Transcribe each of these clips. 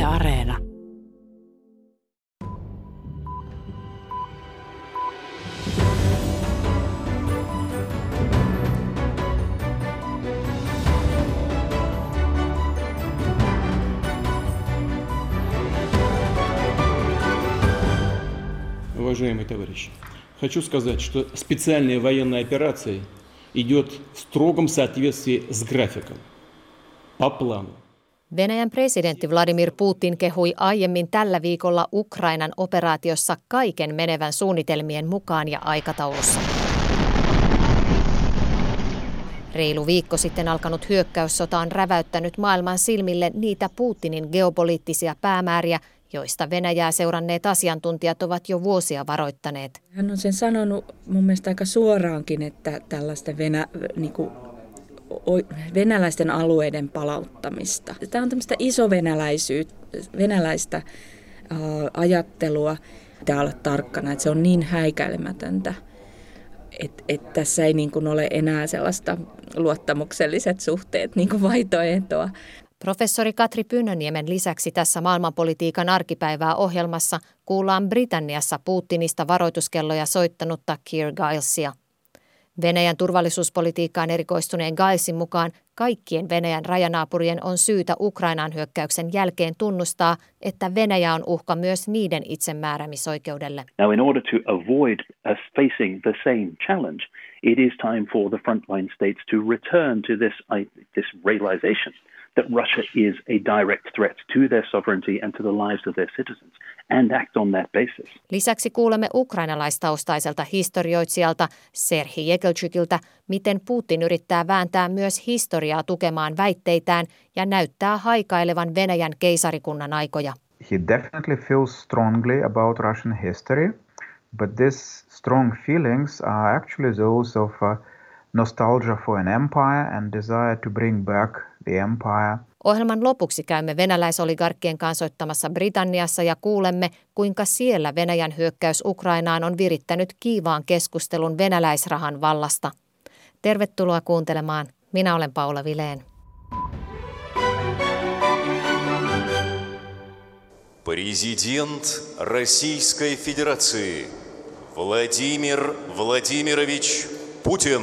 Areena. Уважаемые товарищи, хочу сказать, что специальная военная операция идет в строгом соответствии с графиком, по плану. Venäjän presidentti Vladimir Putin kehui aiemmin tällä viikolla Ukrainan operaatiossa kaiken menevän suunnitelmien mukaan ja aikataulussa. Reilu viikko sitten alkanut hyökkäyssota on räväyttänyt maailman silmille niitä Putinin geopoliittisia päämääriä, joista Venäjää seuranneet asiantuntijat ovat jo vuosia varoittaneet. Hän on sen sanonut mun mielestä aika suoraankin, että tällaista venäläisten alueiden palauttamista. Tämä on tämmöistä venäläistä ajattelua. Pitää olla tarkkana, että se on niin häikäilemätöntä, että tässä ei niin kuin ole enää sellaista luottamukselliset suhteet niin kuin vaihtoehtoa. Professori Katri Pynnöniemen lisäksi tässä maailmanpolitiikan arkipäivää ohjelmassa kuullaan Britanniassa Putinista varoituskelloja soittanutta Keir Gilesia. Venäjän turvallisuuspolitiikkaan erikoistuneen Gilesin mukaan kaikkien Venäjän rajanaapurien on syytä Ukrainan hyökkäyksen jälkeen tunnustaa, että Venäjä on uhka myös niiden itsemääräämisoikeudelle. Now, in order to avoid us facing the same challenge, it is time for the frontline states to return to this realization that Russia is a direct threat to their sovereignty and to the lives of their citizens, and act on that basis. Lisäksi kuulemme ukrainalaistaustaiselta historioitsijalta Serhii Jekelčykiltä, miten Putin yrittää vääntää myös historiaa tukemaan väitteitään ja näyttää haikailevan Venäjän keisarikunnan aikoja. He definitely feels strongly about Russian history, but these strong feelings are actually those of nostalgia for an empire and desire to bring back the empire. Ohjelman lopuksi käymme venäläisoligarkkien kansoittamassa Britanniassa ja kuulemme, kuinka siellä Venäjän hyökkäys Ukrainaan on virittänyt kiivaan keskustelun venäläisrahan vallasta. Tervetuloa kuuntelemaan. Minä olen Paula Vilén. Президент Российской Федерации Владимир Владимирович Путин.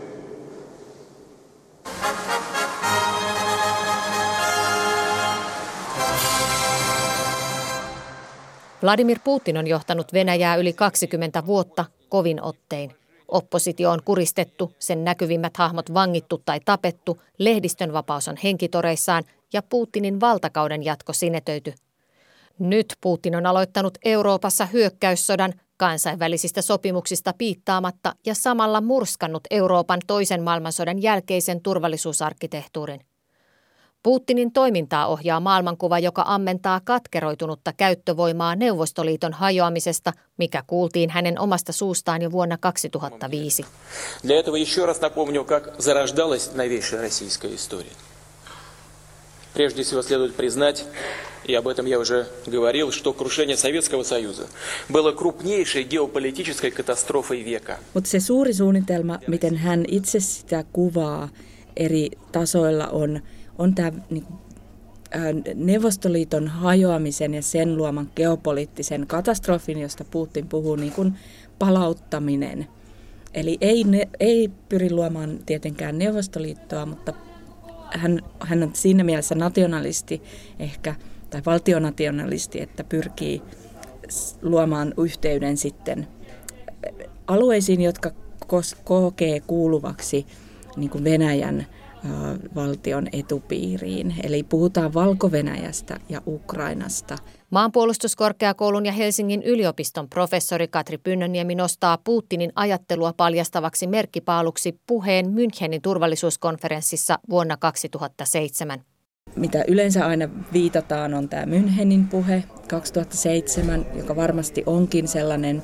Vladimir Putin on johtanut Venäjää yli 20 vuotta kovin ottein. Oppositio on kuristettu, sen näkyvimmät hahmot vangittu tai tapettu, lehdistön vapaus on henkitoreissaan ja Putinin valtakauden jatko sinetöity. Nyt Putin on aloittanut Euroopassa hyökkäyssodan kansainvälisistä sopimuksista piittaamatta ja samalla murskannut Euroopan toisen maailmansodan jälkeisen turvallisuusarkkitehtuurin. Putinin toimintaa ohjaa maailmankuva, joka ammentaa katkeroitunutta käyttövoimaa Neuvostoliiton hajoamisesta, mikä kuultiin hänen omasta suustaan jo vuonna 2005. Для этого еще раз напомню, как зарождалась новейшая российская история. Прежде всего следует признать, и об этом я уже говорил, что крушение Советского Союза было крупнейшей геополитической катастрофой века. Mutta se suuri suunnitelma, miten hän itse sitä kuvaa eri tasoilla on tämä Neuvostoliiton hajoamisen ja sen luoman geopoliittisen katastrofin, josta Putin puhuu, niin kuin palauttaminen. Eli ei pyri luomaan tietenkään Neuvostoliittoa, mutta hän on siinä mielessä nationalisti ehkä, tai valtionationalisti, että pyrkii luomaan yhteyden sitten alueisiin, jotka kokee kuuluvaksi niin kuin Venäjän valtion etupiiriin. Eli puhutaan Valko-Venäjästä ja Ukrainasta. Maanpuolustuskorkeakoulun ja Helsingin yliopiston professori Katri Pynnöniemi nostaa Putinin ajattelua paljastavaksi merkkipaaluksi puheen Münchenin turvallisuuskonferenssissa vuonna 2007. Mitä yleensä aina viitataan on tämä Münchenin puhe 2007, joka varmasti onkin semmoinen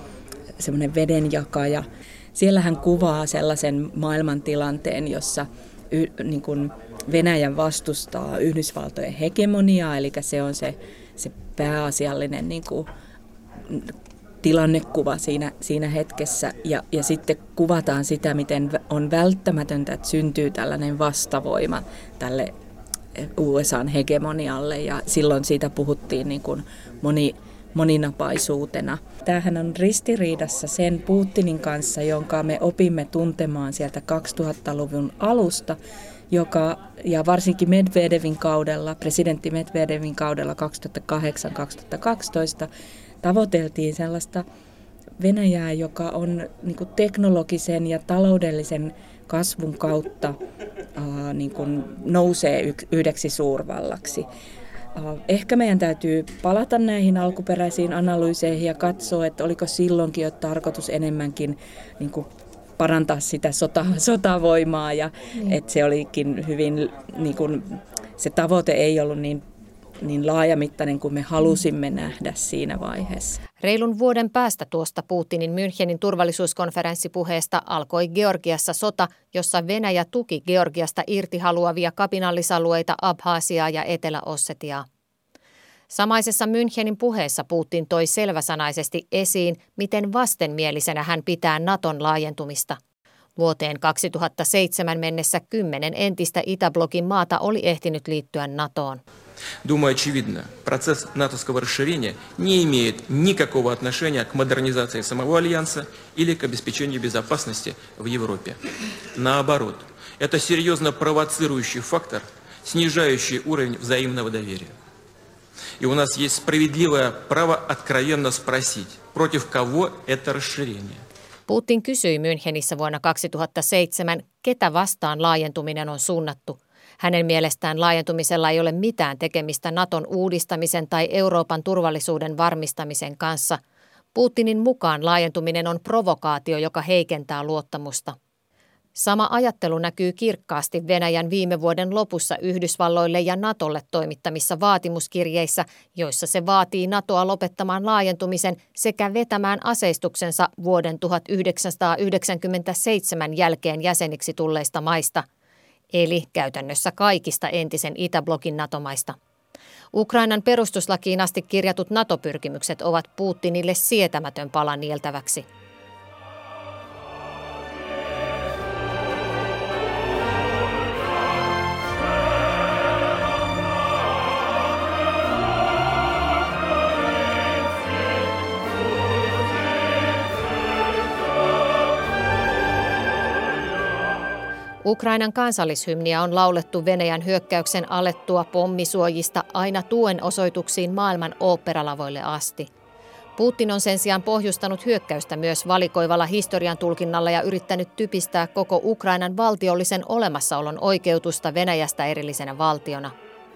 vedenjakaja. Siellä hän kuvaa sellaisen maailmantilanteen, jossa niin kuin Venäjän vastustaa Yhdysvaltojen hegemoniaa, eli se on se pääasiallinen niin kuin tilannekuva siinä hetkessä. Ja sitten kuvataan sitä, miten on välttämätöntä, että syntyy tällainen vastavoima tälle USAn hegemonialle ja silloin siitä puhuttiin niin kuin moninapaisuutena. Tämähän on ristiriidassa sen Putinin kanssa, jonka me opimme tuntemaan sieltä 2000-luvun alusta, ja varsinkin Medvedevin kaudella, presidentti Medvedevin kaudella 2008-2012 tavoiteltiin sellaista Venäjää, joka on niin kuin teknologisen ja taloudellisen kasvun kautta niin kuin nousee yhdeksi suurvallaksi. Ehkä meidän täytyy palata näihin alkuperäisiin analyyseihin ja katsoa, että oliko silloinkin jo tarkoitus enemmänkin niin kuin parantaa sitä sotavoimaa ja että se olikin hyvin, niin kuin, se tavoite ei ollut niin laajamittainen kuin me halusimme nähdä siinä vaiheessa. Reilun vuoden päästä tuosta Putinin Münchenin turvallisuuskonferenssipuheesta alkoi Georgiassa sota, jossa Venäjä tuki Georgiasta irti haluavia kapinallisalueita Abhasiaa ja Etelä-Ossetiaa. Samaisessa Münchenin puheessa Putin toi selväsanaisesti esiin, miten vastenmielisenä hän pitää Naton laajentumista. Vuoteen 2007 mennessä 10 entistä Itäblokin maata oli ehtinyt liittyä NATOon. Думаю, очевидно, процесс натовского расширения не имеет никакого отношения к модернизации самого Альянса или к обеспечению безопасности в Европе. Наоборот, это серьезно провоцирующий фактор, снижающий уровень взаимного доверия. И у нас есть справедливое право откровенно спросить, против кого это расширение. Putin kysyi Münchenissä vuonna 2007, ketä vastaan laajentuminen on suunnattu. Hänen mielestään laajentumisella ei ole mitään tekemistä Naton uudistamisen tai Euroopan turvallisuuden varmistamisen kanssa. Putinin mukaan laajentuminen on provokaatio, joka heikentää luottamusta. Sama ajattelu näkyy kirkkaasti Venäjän viime vuoden lopussa Yhdysvalloille ja Natolle toimittamissa vaatimuskirjeissä, joissa se vaatii Natoa lopettamaan laajentumisen sekä vetämään aseistuksensa vuoden 1997 jälkeen jäseniksi tulleista maista, eli käytännössä kaikista entisen Itäblokin NATO-maista. Ukrainan perustuslakiin asti kirjatut NATO-pyrkimykset ovat Putinille sietämätön pala nieltäväksi. Ukrainan kansallishymniä on laulettu Venäjän hyökkäyksen alettua pommisuojista aina tuen osoituksiin maailman oopperalavoille asti. Putin on sen sijaan pohjustanut hyökkäystä myös valikoivalla historian tulkinnalla ja yrittänyt typistää koko Ukrainan valtiollisen olemassaolon oikeutusta Venäjästä erillisenä valtiona.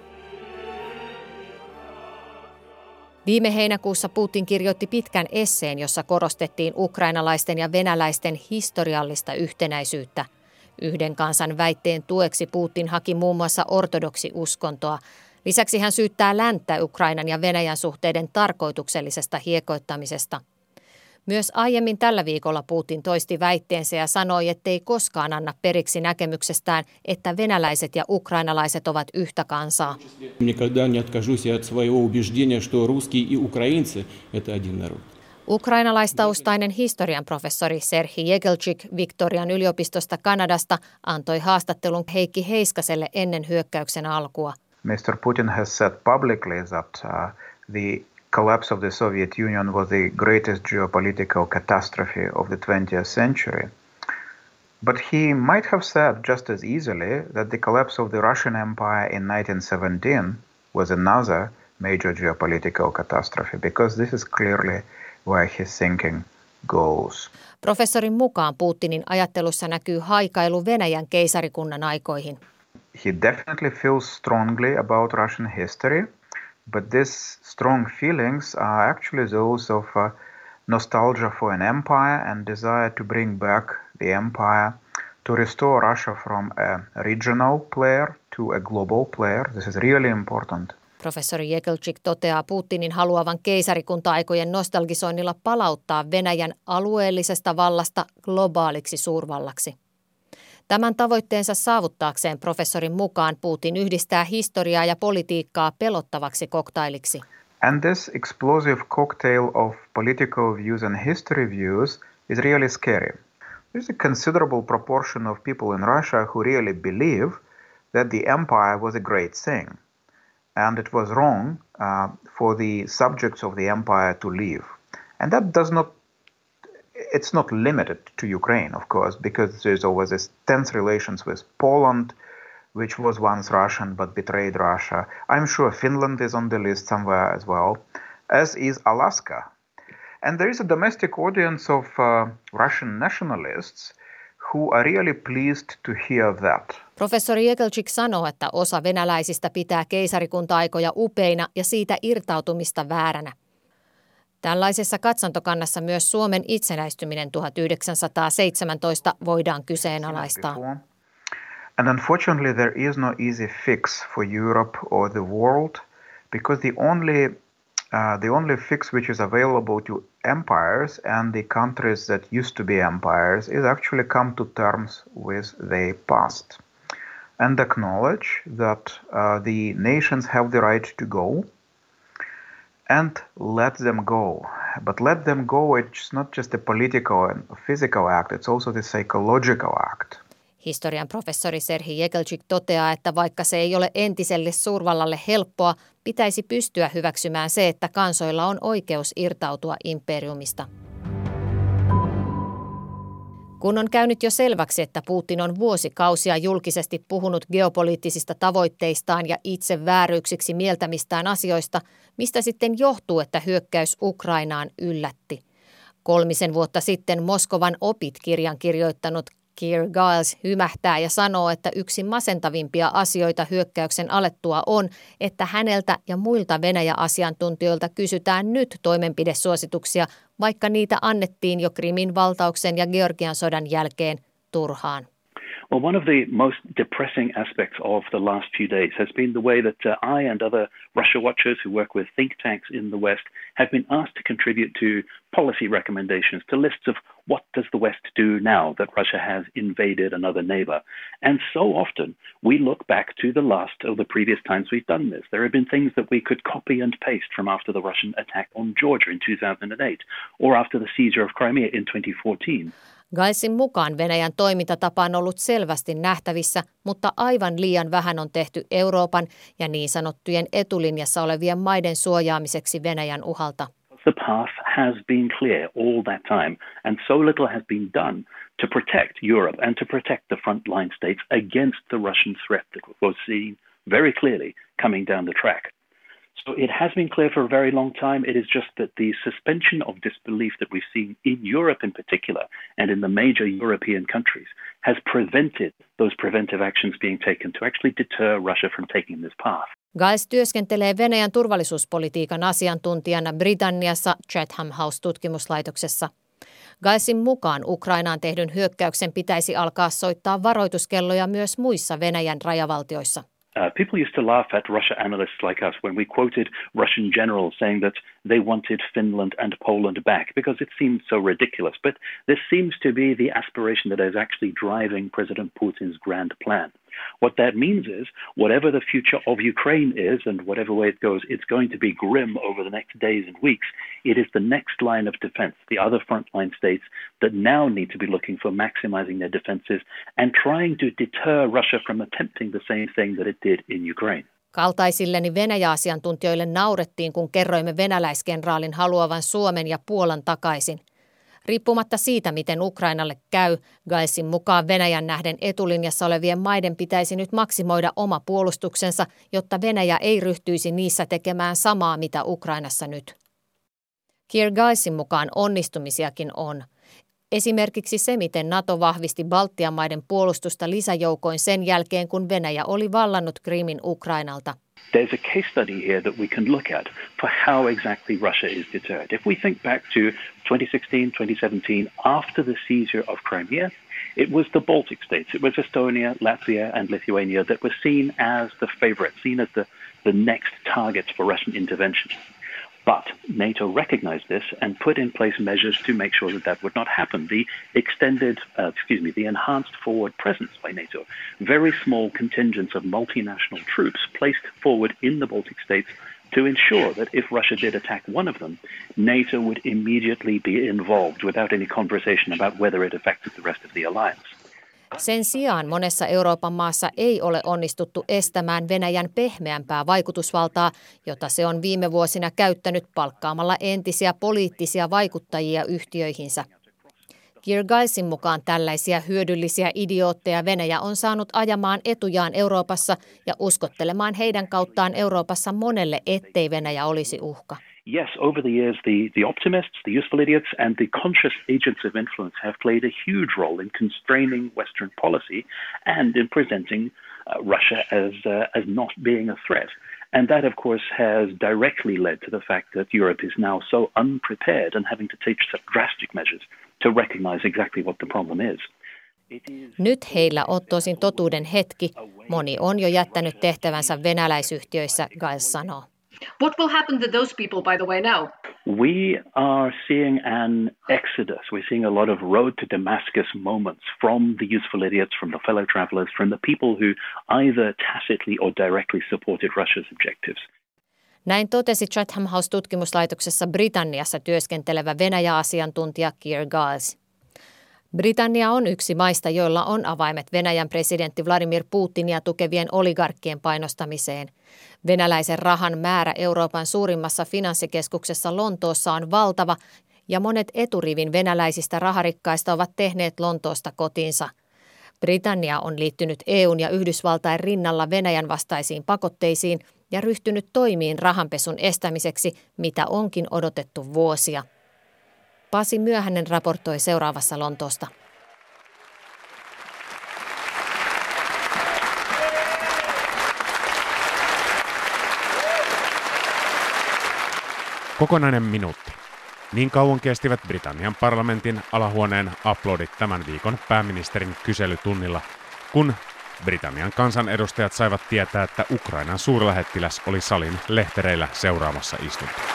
Viime heinäkuussa Putin kirjoitti pitkän esseen, jossa korostettiin ukrainalaisten ja venäläisten historiallista yhtenäisyyttä. Yhden kansan väitteen tueksi Putin haki muun muassa ortodoksiuskontoa. Lisäksi hän syyttää länttä Ukrainan ja Venäjän suhteiden tarkoituksellisesta hiekoittamisesta. Myös aiemmin tällä viikolla Putin toisti väitteensä ja sanoi, ettei koskaan anna periksi näkemyksestään, että venäläiset ja ukrainalaiset ovat yhtä kansaa. Никогда не откажусь от своего убеждения, что русские и украинцы – это один народ. Ukrainalaistaustainen historian professori Serhii Jegelczyk Victorian yliopistosta Kanadasta antoi haastattelun Heikki Heiskaselle ennen hyökkäyksen alkua. Mr. Putin has said publicly that the collapse of the Soviet Union was the greatest geopolitical catastrophe of the 20th century. But he might have said just as easily that the collapse of the Russian Empire in 1917 was another major geopolitical catastrophe, because this is clearly where his thinking goes. Professorin mukaan Putinin ajattelussa näkyy haikailu Venäjän keisarikunnan aikoihin. He definitely feels strongly about Russian history, but these strong feelings are actually those of nostalgia for an empire and desire to bring back the empire, to restore Russia from a regional player to a global player. This is really important. Professori Jegelczyk toteaa Putinin haluavan keisarikunta-aikojen nostalgisoinnilla palauttaa Venäjän alueellisesta vallasta globaaliksi suurvallaksi. Tämän tavoitteensa saavuttaakseen professorin mukaan Putin yhdistää historiaa ja politiikkaa pelottavaksi koktailiksi. And this explosive cocktail of political views and history views is really scary. There's a considerable proportion of people in Russia who really believe that the empire was a great thing, and it was wrong for the subjects of the empire to leave. And that it's not limited to Ukraine, of course, because there's always this tense relations with Poland, which was once Russian but betrayed Russia. I'm sure Finland is on the list somewhere as well, as is Alaska. And there is a domestic audience of Russian nationalists who are really pleased to hear that. Professori Jekelczyk sanoo, että osa venäläisistä pitää keisarikunta-aikoja upeina ja siitä irtautumista vääränä. Tällaisessa katsantokannassa myös Suomen itsenäistyminen 1917 voidaan kyseenalaistaa. And unfortunately there is no easy fix for Europe or the world, because the only fix which is available to empires and the countries that used to be empires is actually come to terms with their past and acknowledge that the nations have the right to go and let them go. But let them go, it's not just a political and physical act, it's also the psychological act. Historian professori Serhii Jekelczyk toteaa, että vaikka se ei ole entiselle suurvallalle helppoa, pitäisi pystyä hyväksymään se, että kansoilla on oikeus irtautua imperiumista. Kun on käynyt jo selväksi, että Putin on vuosikausia julkisesti puhunut geopoliittisista tavoitteistaan ja itse vääryyksiksi mieltämistään asioista, mistä sitten johtuu, että hyökkäys Ukrainaan yllätti. 3 vuotta sitten Moskovan opit-kirjan kirjoittanut Keir Giles hymähtää ja sanoo, että yksi masentavimpia asioita hyökkäyksen alettua on, että häneltä ja muilta Venäjä-asiantuntijoilta kysytään nyt toimenpidesuosituksia, vaikka niitä annettiin jo Krimin valtauksen ja Georgian sodan jälkeen turhaan. Well, one of the most depressing aspects of the last few days has been the way that I and other Russia watchers who work with think tanks in the West have been asked to contribute to policy recommendations, to lists of what does the West do now that Russia has invaded another neighbor. And so often we look back to the last of the previous times we've done this. There have been things that we could copy and paste from after the Russian attack on Georgia in 2008 or after the seizure of Crimea in 2014. Gilesin mukaan Venäjän toimintatapa on ollut selvästi nähtävissä, mutta aivan liian vähän on tehty Euroopan ja niin sanottujen etulinjassa olevien maiden suojaamiseksi Venäjän uhalta. The path has been clear all that time, and so little has been done to protect Europe and to protect the frontline states against the Russian threat that was seen very clearly coming down the track. So it has been clear for a very long time. It is just that the suspension of disbelief that we've seen in Europe in particular and in the major European countries has prevented those preventive actions being taken to actually deter Russia from taking this path. Giles työskentelee Venäjän turvallisuuspolitiikan asiantuntijana Britanniassa Chatham House-tutkimuslaitoksessa. Gilesin mukaan Ukrainaan tehdyn hyökkäyksen pitäisi alkaa soittaa varoituskelloja myös muissa Venäjän rajavaltioissa. People used to laugh at Russia analysts like us when we quoted Russian generals saying that they wanted Finland and Poland back because it seemed so ridiculous. But this seems to be the aspiration that is actually driving President Putin's grand plan. What that means is whatever the future of Ukraine is and whatever way it goes, it's going to be grim over the next days and weeks. It is the next line of defense, the other frontline states that now need to be looking for maximizing their defenses and trying to deter Russia from attempting the same thing that it did in Ukraine. Kaltaisilleni Venäjä-asiantuntijoille naurettiin, kun kerroimme venäläiskenraalin haluavan Suomen ja Puolan takaisin. Riippumatta siitä, miten Ukrainalle käy, Gilesin mukaan Venäjän nähden etulinjassa olevien maiden pitäisi nyt maksimoida oma puolustuksensa, jotta Venäjä ei ryhtyisi niissä tekemään samaa, mitä Ukrainassa nyt. Keir Gilesin mukaan onnistumisiakin on. Esimerkiksi se, miten NATO vahvisti Baltian maiden puolustusta lisäjoukoin sen jälkeen, kun Venäjä oli vallannut Krimin Ukrainalta. There's a case study here that we can look at for how exactly Russia is deterred. If we think back to 2016, 2017, after the seizure of Crimea, it was the Baltic states, it was Estonia, Latvia and Lithuania that were seen as the favorite, seen as the next targets for Russian intervention. But NATO recognized this and put in place measures to make sure that that would not happen. The the enhanced forward presence by NATO, very small contingents of multinational troops placed forward in the Baltic states to ensure that if Russia did attack one of them, NATO would immediately be involved without any conversation about whether it affected the rest of the alliance. Sen sijaan monessa Euroopan maassa ei ole onnistuttu estämään Venäjän pehmeämpää vaikutusvaltaa, jota se on viime vuosina käyttänyt palkkaamalla entisiä poliittisia vaikuttajia yhtiöihinsä. Kiergaisin mukaan tällaisia hyödyllisiä idiootteja Venäjä on saanut ajamaan etujaan Euroopassa ja uskottelemaan heidän kauttaan Euroopassa monelle, ettei Venäjä olisi uhka. Yes, over the years, the optimists, the useful idiots, and the conscious agents of influence have played a huge role in constraining Western policy and in presenting Russia as not being a threat. And that, of course, has directly led to the fact that Europe is now so unprepared and having to take such drastic measures to recognize exactly what the problem is. Nyt heillä on tosin totuuden hetki. Moni on jo jättänyt tehtävänsä venäläisyhtiöissä, Giles sanoo. What will happen to those people, by the way, now? We are seeing an exodus. We're seeing a lot of road to Damascus moments from the useful idiots, from the fellow travelers, from the people who either tacitly or directly supported Russia's objectives. Näin totesi Chatham House-tutkimuslaitoksessa Britanniassa työskentelevä Venäjä-asiantuntija Keir Giles. Britannia on yksi maista, joilla on avaimet Venäjän presidentti Vladimir Putinia tukevien oligarkkien painostamiseen. Venäläisen rahan määrä Euroopan suurimmassa finanssikeskuksessa Lontoossa on valtava ja monet eturivin venäläisistä raharikkaista ovat tehneet Lontoosta kotinsa. Britannia on liittynyt EUn ja Yhdysvaltain rinnalla Venäjän vastaisiin pakotteisiin ja ryhtynyt toimiin rahanpesun estämiseksi, mitä onkin odotettu vuosia. Pasi Myöhänen raportoi seuraavassa Lontoosta. Kokonainen minuutti. Niin kauan kestivät Britannian parlamentin alahuoneen aplodit tämän viikon pääministerin kyselytunnilla, kun Britannian kansanedustajat saivat tietää, että Ukrainan suurlähettiläs oli salin lehtereillä seuraamassa istuntoa.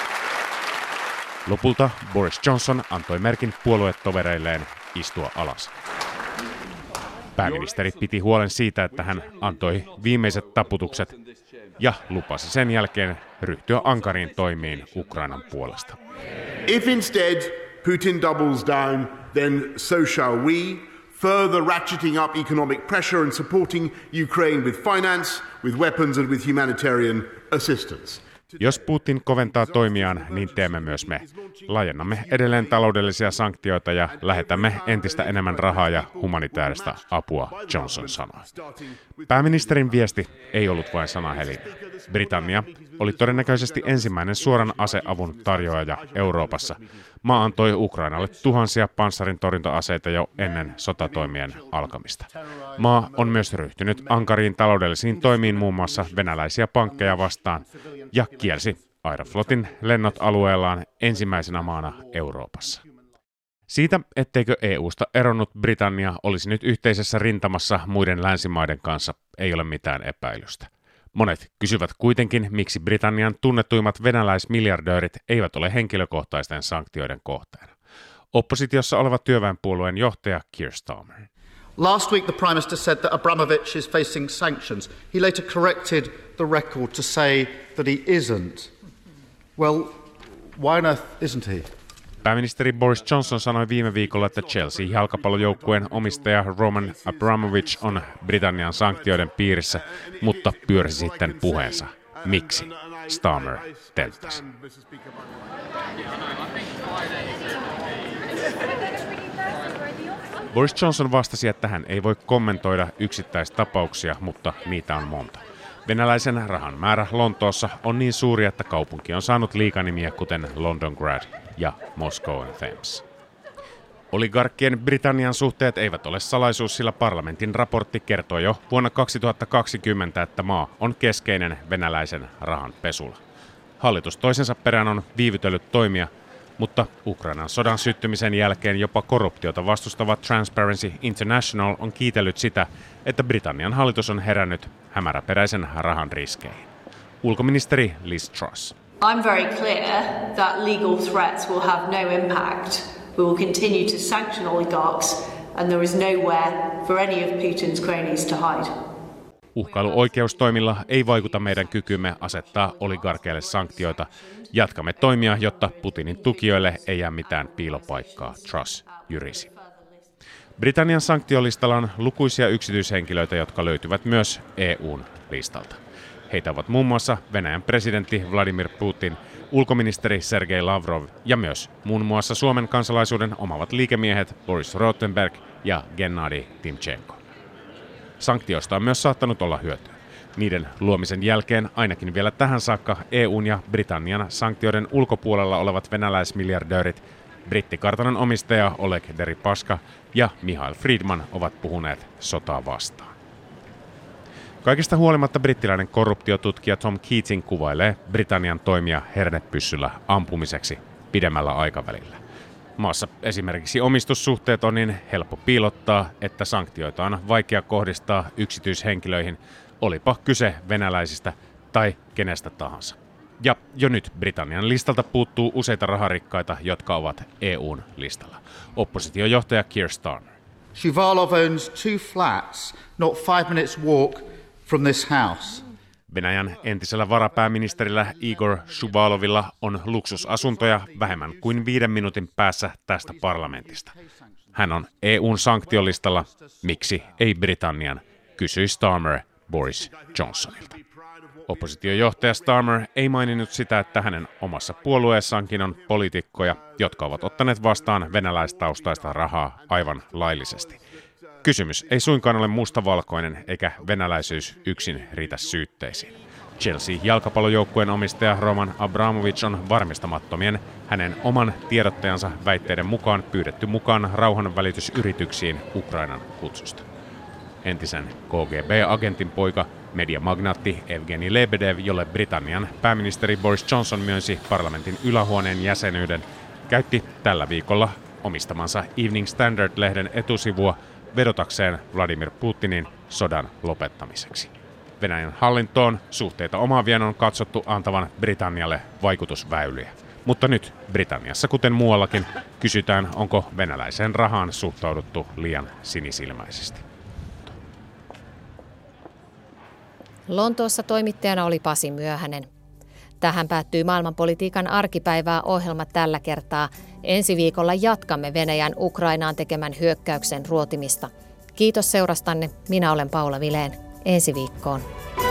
Lopulta Boris Johnson antoi merkin puoluetovereilleen istua alas. Pääministeri piti huolen siitä, että hän antoi viimeiset taputukset ja lupasi sen jälkeen ryhtyä ankariin toimiin Ukrainan puolesta. If instead Putin doubles down, then so shall we, further ratcheting up economic pressure and supporting Ukraine with finance, with weapons and with humanitarian assistance. Jos Putin koventaa toimiaan, niin teemme myös me. Laajennamme edelleen taloudellisia sanktioita ja lähetämme entistä enemmän rahaa ja humanitaarista apua, Johnson sanoi. Pääministerin viesti ei ollut vain sanahelinä. Britannia oli todennäköisesti ensimmäinen suoran aseavun tarjoaja Euroopassa. Maa antoi Ukrainalle tuhansia panssarin torjunta-aseita jo ennen sotatoimien alkamista. Maa on myös ryhtynyt ankariin taloudellisiin toimiin muun muassa venäläisiä pankkeja vastaan ja kielsi Aeroflotin lennot alueellaan ensimmäisenä maana Euroopassa. Siitä, etteikö EUsta eronnut Britannia olisi nyt yhteisessä rintamassa muiden länsimaiden kanssa, ei ole mitään epäilystä. Monet kysyvät kuitenkin, miksi Britannian tunnetuimmat venäläismiljardöörit eivät ole henkilökohtaisten sanktioiden kohteena. Oppositiossa oleva työväenpuolueen johtaja Keir Starmer. Last week the Prime Minister said that Abramovich is facing sanctions. He later corrected the record to say that he isn't. Well, why on earth isn't he? Pääministeri Boris Johnson sanoi viime viikolla, että Chelsea-jalkapallojoukkueen omistaja Roman Abramovich on Britannian sanktioiden piirissä, mutta pyörsi sitten puheensa. Miksi? Starmer tenttasi. Boris Johnson vastasi, että hän ei voi kommentoida yksittäistapauksia, mutta niitä on monta. Venäläisen rahan määrä Lontoossa on niin suuri, että kaupunki on saanut liikanimiä kuten Londongrad ja Moscow and Thames. Oligarkkien Britannian suhteet eivät ole salaisuus, sillä parlamentin raportti kertoi jo vuonna 2020, että maa on keskeinen venäläisen rahan pesulla. Hallitus toisensa perään on viivytellyt toimia, mutta Ukrainan sodan syttymisen jälkeen jopa korruptiota vastustava Transparency International on kiitellyt sitä, että Britannian hallitus on herännyt hämäräperäisen rahan riskeihin. Ulkoministeri Liz Truss. I'm very clear that legal threats will have no impact. We will continue to sanction oligarchs and there is nowhere for any of Putin's cronies to hide. Uhkailu oikeustoimilla ei vaikuta meidän kykymme asettaa oligarkeille sanktioita. Jatkamme toimia, jotta Putinin tukijoille ei jää mitään piilopaikkaa, Truss jyrisi. Britannian sanktiolistalla on lukuisia yksityishenkilöitä, jotka löytyvät myös EU:n listalta. Heitä ovat muun muassa Venäjän presidentti Vladimir Putin, ulkoministeri Sergei Lavrov ja myös muun muassa Suomen kansalaisuuden omavat liikemiehet Boris Rothenberg ja Gennadi Timchenko. Sanktioista on myös saattanut olla hyötyä. Niiden luomisen jälkeen ainakin vielä tähän saakka EUn ja Britannian sanktioiden ulkopuolella olevat venäläismiljardöörit, brittikartanon omistaja Oleg Deripaska ja Michael Friedman ovat puhuneet sotaa vastaan. Kaikesta huolimatta brittiläinen korruptiotutkija Tom Keating kuvailee Britannian toimia hernepyssyllä ampumiseksi pidemmällä aikavälillä. Maassa esimerkiksi omistussuhteet on niin helppo piilottaa, että sanktioita on vaikea kohdistaa yksityishenkilöihin, olipa kyse venäläisistä tai kenestä tahansa. Ja jo nyt Britannian listalta puuttuu useita raharikkaita, jotka ovat EUn listalla. Oppositiojohtaja Keir Starmer. Shuvalov owns 2 flats, not 5 minutes walk from this house. Venäjän entisellä varapääministerillä Igor Shuvalovilla on luksusasuntoja vähemmän kuin 5 minuutin päässä tästä parlamentista. Hän on EUn sanktiolistalla. Miksi ei Britannian, kysyi Starmer Boris Johnsonilta. Oppositiojohtaja Starmer ei maininnut sitä, että hänen omassa puolueessaankin on poliitikkoja, jotka ovat ottaneet vastaan venäläistaustaista rahaa aivan laillisesti. Kysymys ei suinkaan ole mustavalkoinen, eikä venäläisyys yksin riitä syytteisiin. Chelsea-jalkapallojoukkueen omistaja Roman Abramovich on varmistamattomien hänen oman tiedottajansa väitteiden mukaan pyydetty mukaan rauhanvälitysyrityksiin Ukrainan kutsusta. Entisen KGB-agentin poika, mediamagnaatti Evgeni Lebedev, jolle Britannian pääministeri Boris Johnson myönsi parlamentin ylähuoneen jäsenyyden, käytti tällä viikolla omistamansa Evening Standard-lehden etusivua vedotakseen Vladimir Putinin sodan lopettamiseksi. Venäjän hallintoon suhteita omaavien on katsottu antavan Britannialle vaikutusväyliä. Mutta nyt Britanniassa, kuten muuallakin, kysytään, onko venäläiseen rahaan suhtauduttu liian sinisilmäisesti. Lontoossa toimittajana oli Pasi Myöhänen. Tähän päättyy maailmanpolitiikan arkipäivää ohjelma tällä kertaa. Ensi viikolla jatkamme Venäjän Ukrainaan tekemän hyökkäyksen ruotimista. Kiitos seurastanne. Minä olen Paula Vilén. Ensi viikkoon.